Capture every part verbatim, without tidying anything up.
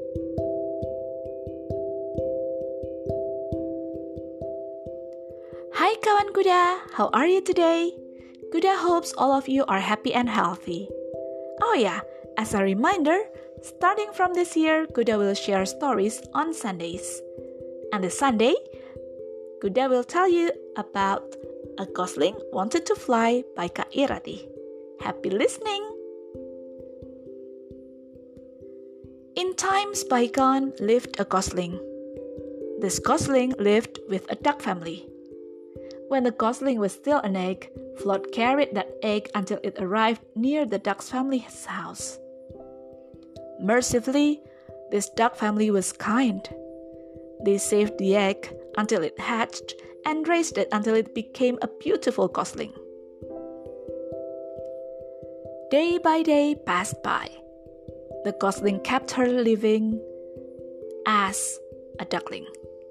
Hai kawan kuda, how are you today? Kuda hopes all of you are happy and healthy. Oh yeah, as a reminder, starting from this year, Kuda will share stories on Sundays. And this Sunday, Kuda will tell you about A Gosling Wanted to Fly by Kak Irati. Happy listening! In times bygone lived a gosling. This gosling lived with a duck family. When the gosling was still an egg, Float carried that egg until it arrived near the duck's family's house. Mercifully, this duck family was kind. They saved the egg until it hatched and raised it until it became a beautiful gosling. Day by day passed by. The gosling kept her living as a duckling.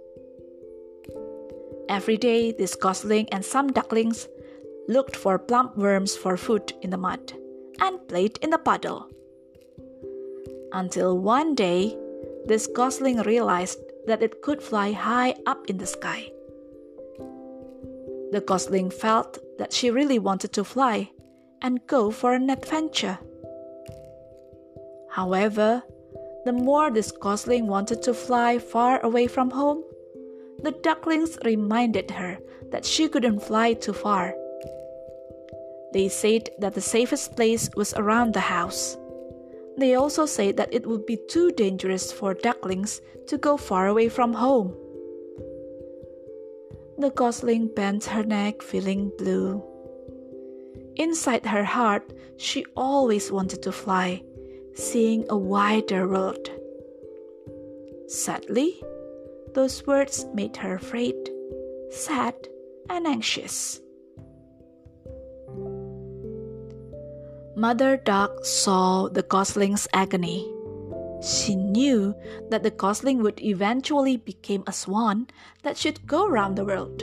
Every day, this gosling and some ducklings looked for plump worms for food in the mud and played in the puddle. Until one day, this gosling realized that it could fly high up in the sky. The gosling felt that she really wanted to fly and go for an adventure. However, the more this gosling wanted to fly far away from home, the ducklings reminded her that she couldn't fly too far. They said that the safest place was around the house. They also said that it would be too dangerous for ducklings to go far away from home. The gosling bent her neck, feeling blue. Inside her heart, she always wanted to fly, seeing a wider world. Sadly, those words made her afraid, sad, and anxious. Mother Duck saw the gosling's agony. She knew that the gosling would eventually become a swan that should go around the world.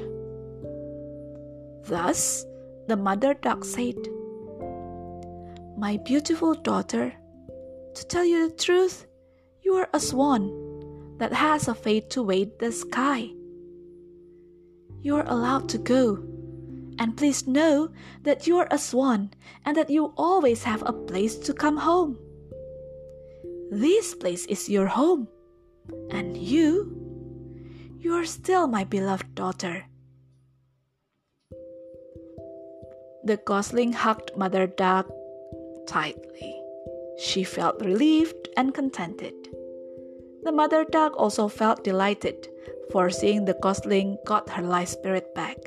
Thus, the mother duck said, "My beautiful daughter, to tell you the truth, you are a swan that has a fate to wade the sky. You are allowed to go, and please know that you are a swan and that you always have a place to come home. This place is your home, and you, you are still my beloved daughter." The gosling hugged Mother Duck tightly. She felt relieved and contented. The mother duck also felt delighted for seeing the gosling got her life spirit back.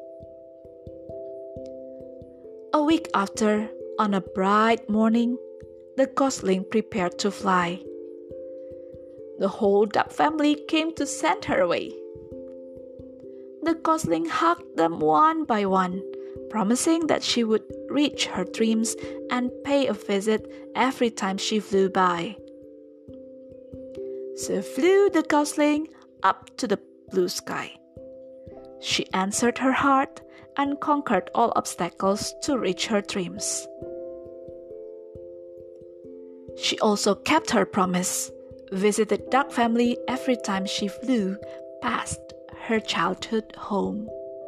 A week after, on a bright morning, the gosling prepared to fly. The whole duck family came to send her away. The gosling hugged them one by one, promising that she would reach her dreams and pay a visit every time she flew by. So flew the gosling up to the blue sky. She answered her heart and conquered all obstacles to reach her dreams. She also kept her promise, visited duck family every time she flew past her childhood home.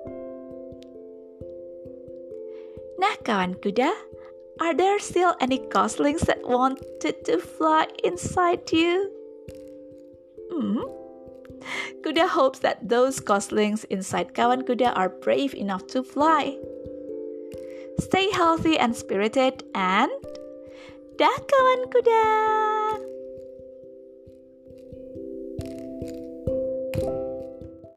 Nah kawan kuda, are there still any goslings that wanted to fly inside you? Hmm? Kuda hopes that those goslings inside kawan kuda are brave enough to fly. Stay healthy and spirited, and dah kawan kuda!